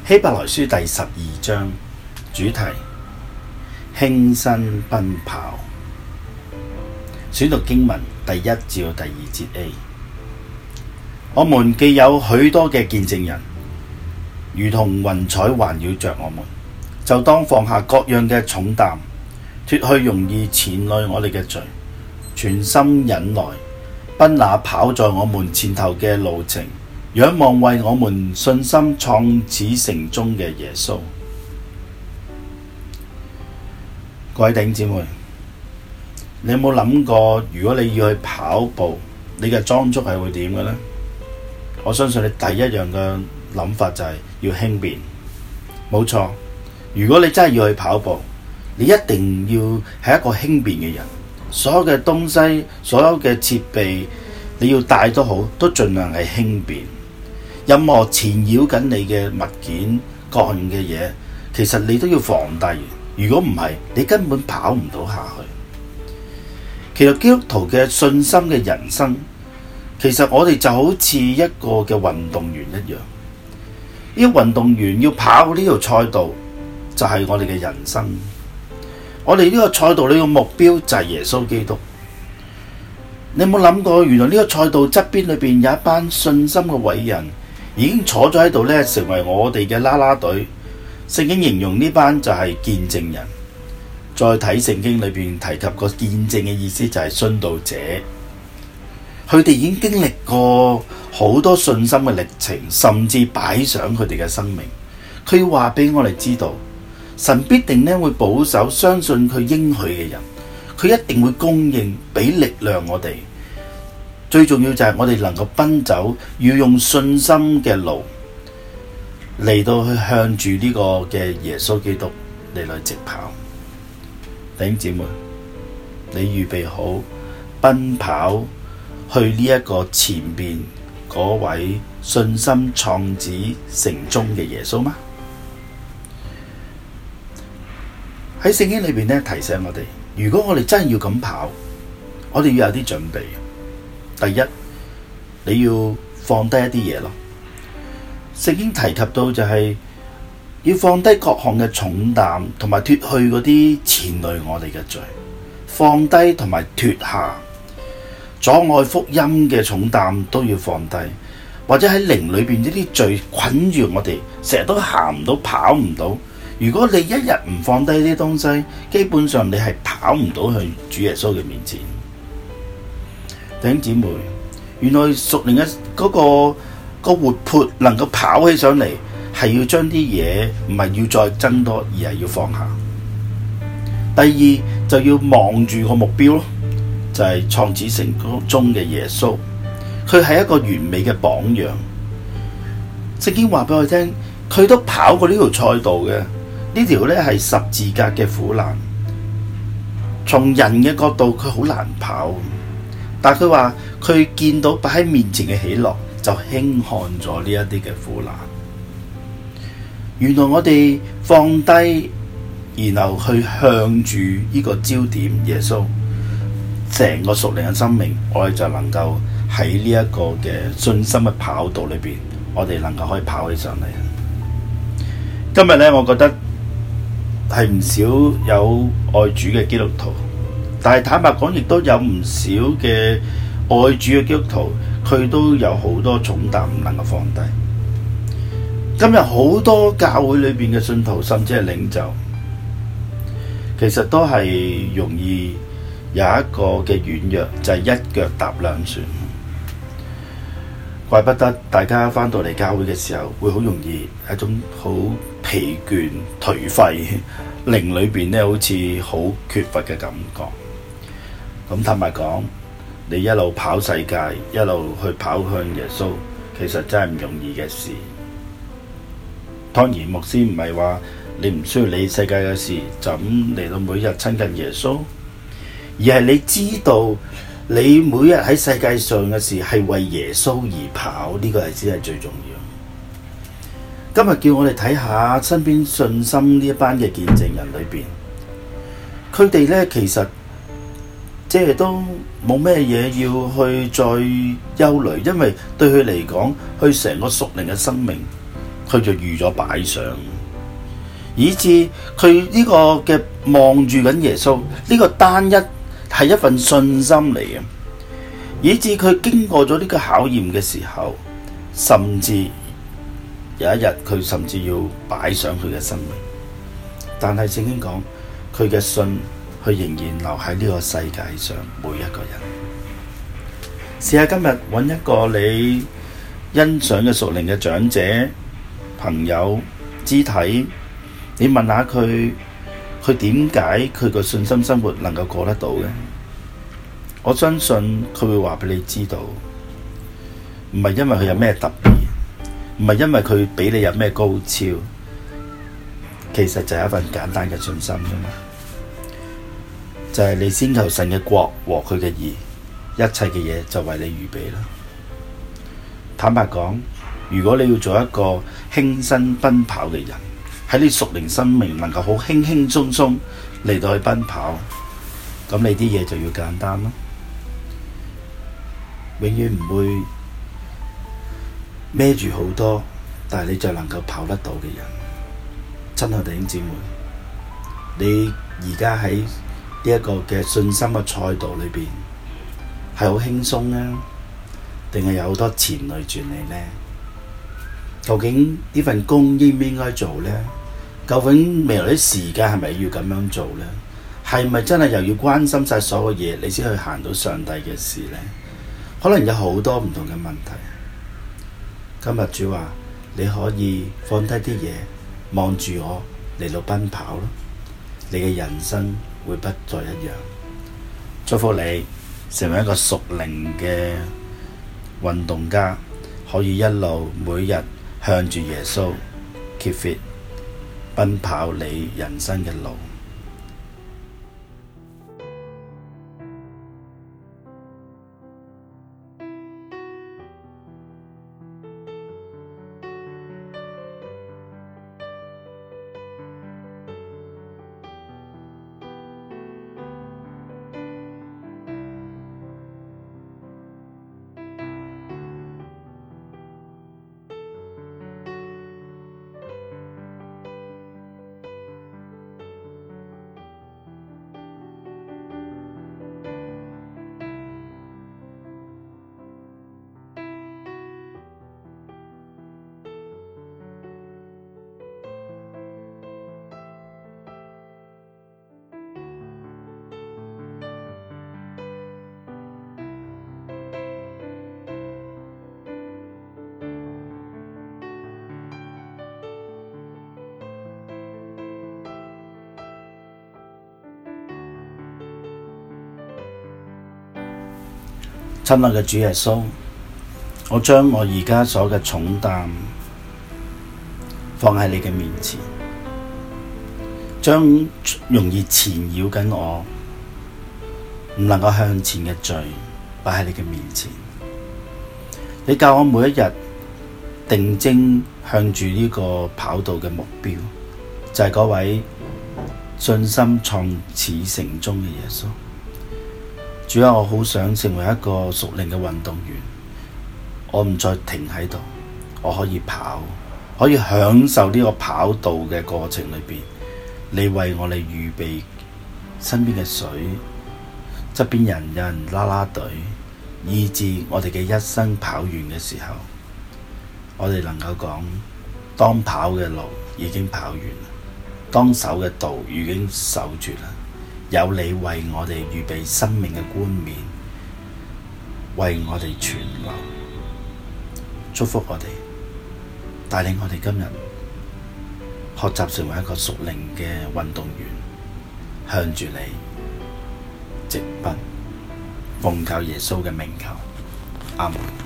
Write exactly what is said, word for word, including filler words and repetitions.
希伯來書第十二章主題：輕身奔跑。選讀經文第一至第二節 A。我們既有許多嘅見證人，如同雲彩環繞着我們，就當放下各樣嘅重擔，脫去容易纏累我哋嘅罪，全心忍耐，奔那跑在我們前頭嘅路程，仰望為我們信心創始成終嘅耶穌。各位弟兄姊妹，你有冇諗過，如果你要去跑步，你嘅裝束係會點嘅呢？我相信你第一樣嘅諗法就係要輕便。冇錯，如果你真係要去跑步，你一定要係一個輕便嘅人。所有嘅東西，所有嘅設備，你要帶都好，都盡量係輕便。任何纏繞緊你嘅物件、各樣嘅嘢，其實你都要放低。如果唔係，你根本跑唔到下去。其實基督徒嘅信心嘅人生，其實我哋就好似一個嘅運動員一樣。呢個運動員要跑呢條賽道，就係我哋嘅人生。我哋呢個賽道呢個目標就係耶穌基督。你有冇諗過，原來呢個賽道側邊裏邊有一班信心嘅偉人，已經坐咗喺度咧，成為我哋嘅啦啦隊。聖經形容呢班就係見證人。再睇聖經裏邊提及個見證嘅意思就係殉道者。佢哋已經經歷過好多信心嘅歷程，甚至擺上佢哋嘅生命。佢要話俾我哋知道，神必定咧會保守相信佢應許嘅人，佢一定會供應俾力量我哋。最重要就係我哋能夠奔走，要用信心嘅路嚟到去向住呢個嘅耶穌基督嚟嚟直跑。弟兄姊妹，你預備好奔跑去呢一個前邊嗰位信心創始成終嘅耶穌嗎？喺聖經裏邊咧提醒我哋，如果我哋真係要咁跑，我哋要有啲準備。第一，你要放低一啲嘢咯。聖經提及到就係要放低各項嘅重擔，同埋脫去嗰啲纏累我哋嘅罪，放低同埋脫下阻礙福音嘅重擔都要放低，或者喺靈裏邊呢啲罪捆住我哋，成日都行唔到，跑唔到。如果你一日唔放低呢啲東西，基本上你係跑唔到去主耶穌嘅面前。弟兄姊妹，原來屬靈嘅嗰個個活潑能夠跑起上嚟，係要將啲嘢唔係要再增多，而係要放下。第二就要望住個目標咯，就係創始成終嘅耶穌，佢係一個完美嘅榜樣。聖經話俾我聽，佢都跑過呢條賽道嘅，呢條咧係十字架嘅苦難。從人嘅角度，佢好難跑，但係佢話佢見到擺喺面前嘅喜樂，就輕看咗呢一啲嘅苦難。原來我哋放低，然後去向住呢個焦點耶穌，成個屬靈嘅生命，我哋就能夠喺呢一個嘅信心嘅跑道裏邊，我哋能夠可以跑起上嚟。今日咧，我覺得係唔少有愛主嘅基督徒，但係坦白講，亦都有唔少嘅愛主嘅基督徒，佢都有好多重擔唔能夠放低。今日好多教會裏邊嘅信徒，甚至係領袖，其實都係容易有一個嘅軟弱，就係、是、一腳踏兩船。怪不得大家返到嚟教會嘅時候，會好容易一種好疲倦、頹廢，靈裏邊咧好似好缺乏嘅感覺。咁坦白講，你一路跑世界，一路去跑向耶穌，其實真係唔容易嘅事。當然，牧師唔係話你唔需要理世界嘅事，就咁嚟到每日親近耶穌，而係你知道你每日喺世界上嘅事係為耶穌而跑，呢個係先係最重要。今日叫我哋睇下身邊信心呢一班嘅見證人裏邊，佢哋咧其實即係都冇咩嘢要去再憂慮，因為對佢嚟講，佢成個屬靈嘅生命佢就預咗擺上，以致佢呢個嘅望住緊耶穌，呢個單一係一份信心嚟嘅，以致佢經過咗呢個考驗嘅時候，甚至有一日佢甚至要擺上佢嘅生命。但係聖經講佢嘅信，佢仍然留喺呢個世界上每一個人。試下今日揾一個你欣賞嘅屬靈嘅長者、朋友、肢體，你問下佢，佢點解佢個信心生活能夠過得到嘅？我相信佢會話俾你知道，唔係因為佢有咩特別，唔係因為佢比你有咩高超，其實就係一份簡單嘅信心啫嘛。就係你先求神嘅國和佢嘅義，一切嘅嘢就為你預備啦。坦白講，如果你要做一個輕身奔跑嘅人，喺你屬靈生命能夠好輕輕鬆鬆嚟到去奔跑，咁你啲嘢就要簡單咯。永遠唔會孭住好多，但係你就能夠跑得到嘅人。親愛弟兄姊妹，你而家喺呢一個嘅信心嘅賽道裏邊係好輕鬆啊，定係有好多纏累住你呢？究竟呢份工應唔應該做呢？究竟未來啲時間係咪要咁樣做呢？係咪真係又要關心晒所有嘢，你先去行到上帝嘅事呢？可能有好多唔同嘅問題。今日主話你可以放低啲嘢，望住我嚟到奔跑咯，你嘅人生會不再一樣。祝福你成為一個屬靈嘅運動家，可以一路每日向住耶穌 keep fit 奔跑你人生嘅路。親愛嘅主耶穌，我將我而家所嘅重擔放喺你嘅面前，將容易纏繞緊我唔能夠向前嘅罪擺喺你嘅面前。你教我每一日定睛向住呢個跑道嘅目標，就係嗰位信心創始成終嘅耶穌。主啊，我好想成為一個屬靈嘅運動員，我唔再停喺度，我可以跑，可以享受呢個跑道嘅過程裏邊，你為我哋預備身邊嘅水，側邊人有人啦啦隊，以致我哋嘅一生跑完嘅時候，我哋能夠講，當跑嘅路已經跑完，當守嘅道已經守住啦。有你為我哋預備生命嘅冠冕，為我哋存留，祝福我哋，帶領我哋今日學習成為一個屬靈嘅運動員，向住你直奔，奉靠耶穌嘅名求，阿門。